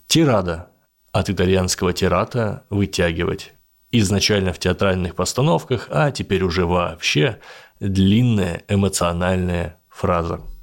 Тирада. От итальянского тирата – вытягивать. Изначально в театральных постановках, а теперь уже вообще длинная эмоциональная фраза.